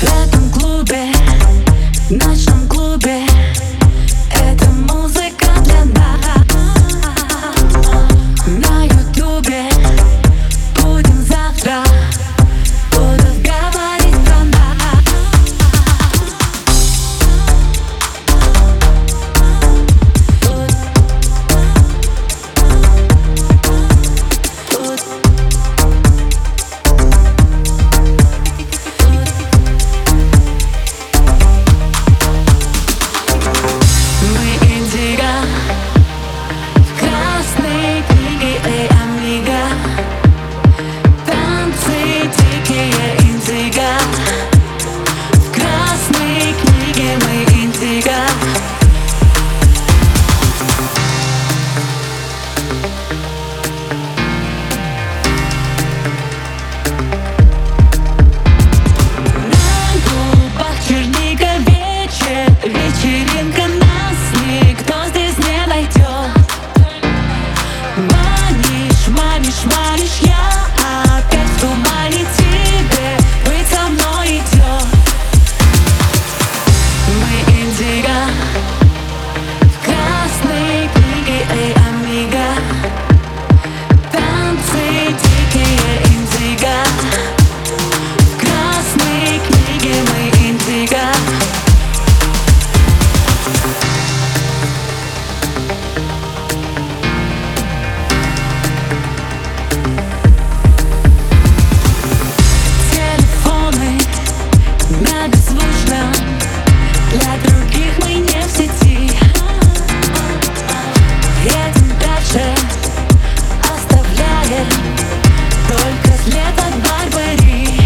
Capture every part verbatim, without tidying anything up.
этом клубе, ночном клубе, эта музыка для нас. На ютубе будем завтра, будут говорить про нас. Мы индиго в красной книге, эй, амиго. Танцы дикие индиго. В красной книге мы индиго. На губах черника, вечер, вечеринка, нас никто здесь не найдет. Манишь, манишь, манишь, я опять в тумане, тебе быть со мной идет. Мы индиго в красной книге, эй, амиго. Танцы дикие индиго. В красной книге мы индиго. Телефоны на беззвучном, для других мы не в сети. Едем дальше, оставляем только след от Барбари.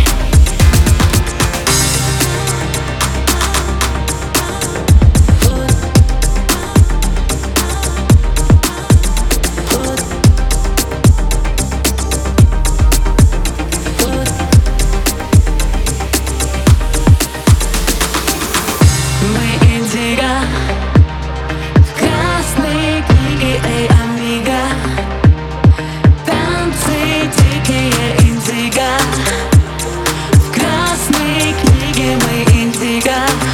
Мы индиго в красной книге, эй, амиго. Танцы дикие индиго. В красной книге мы индиго.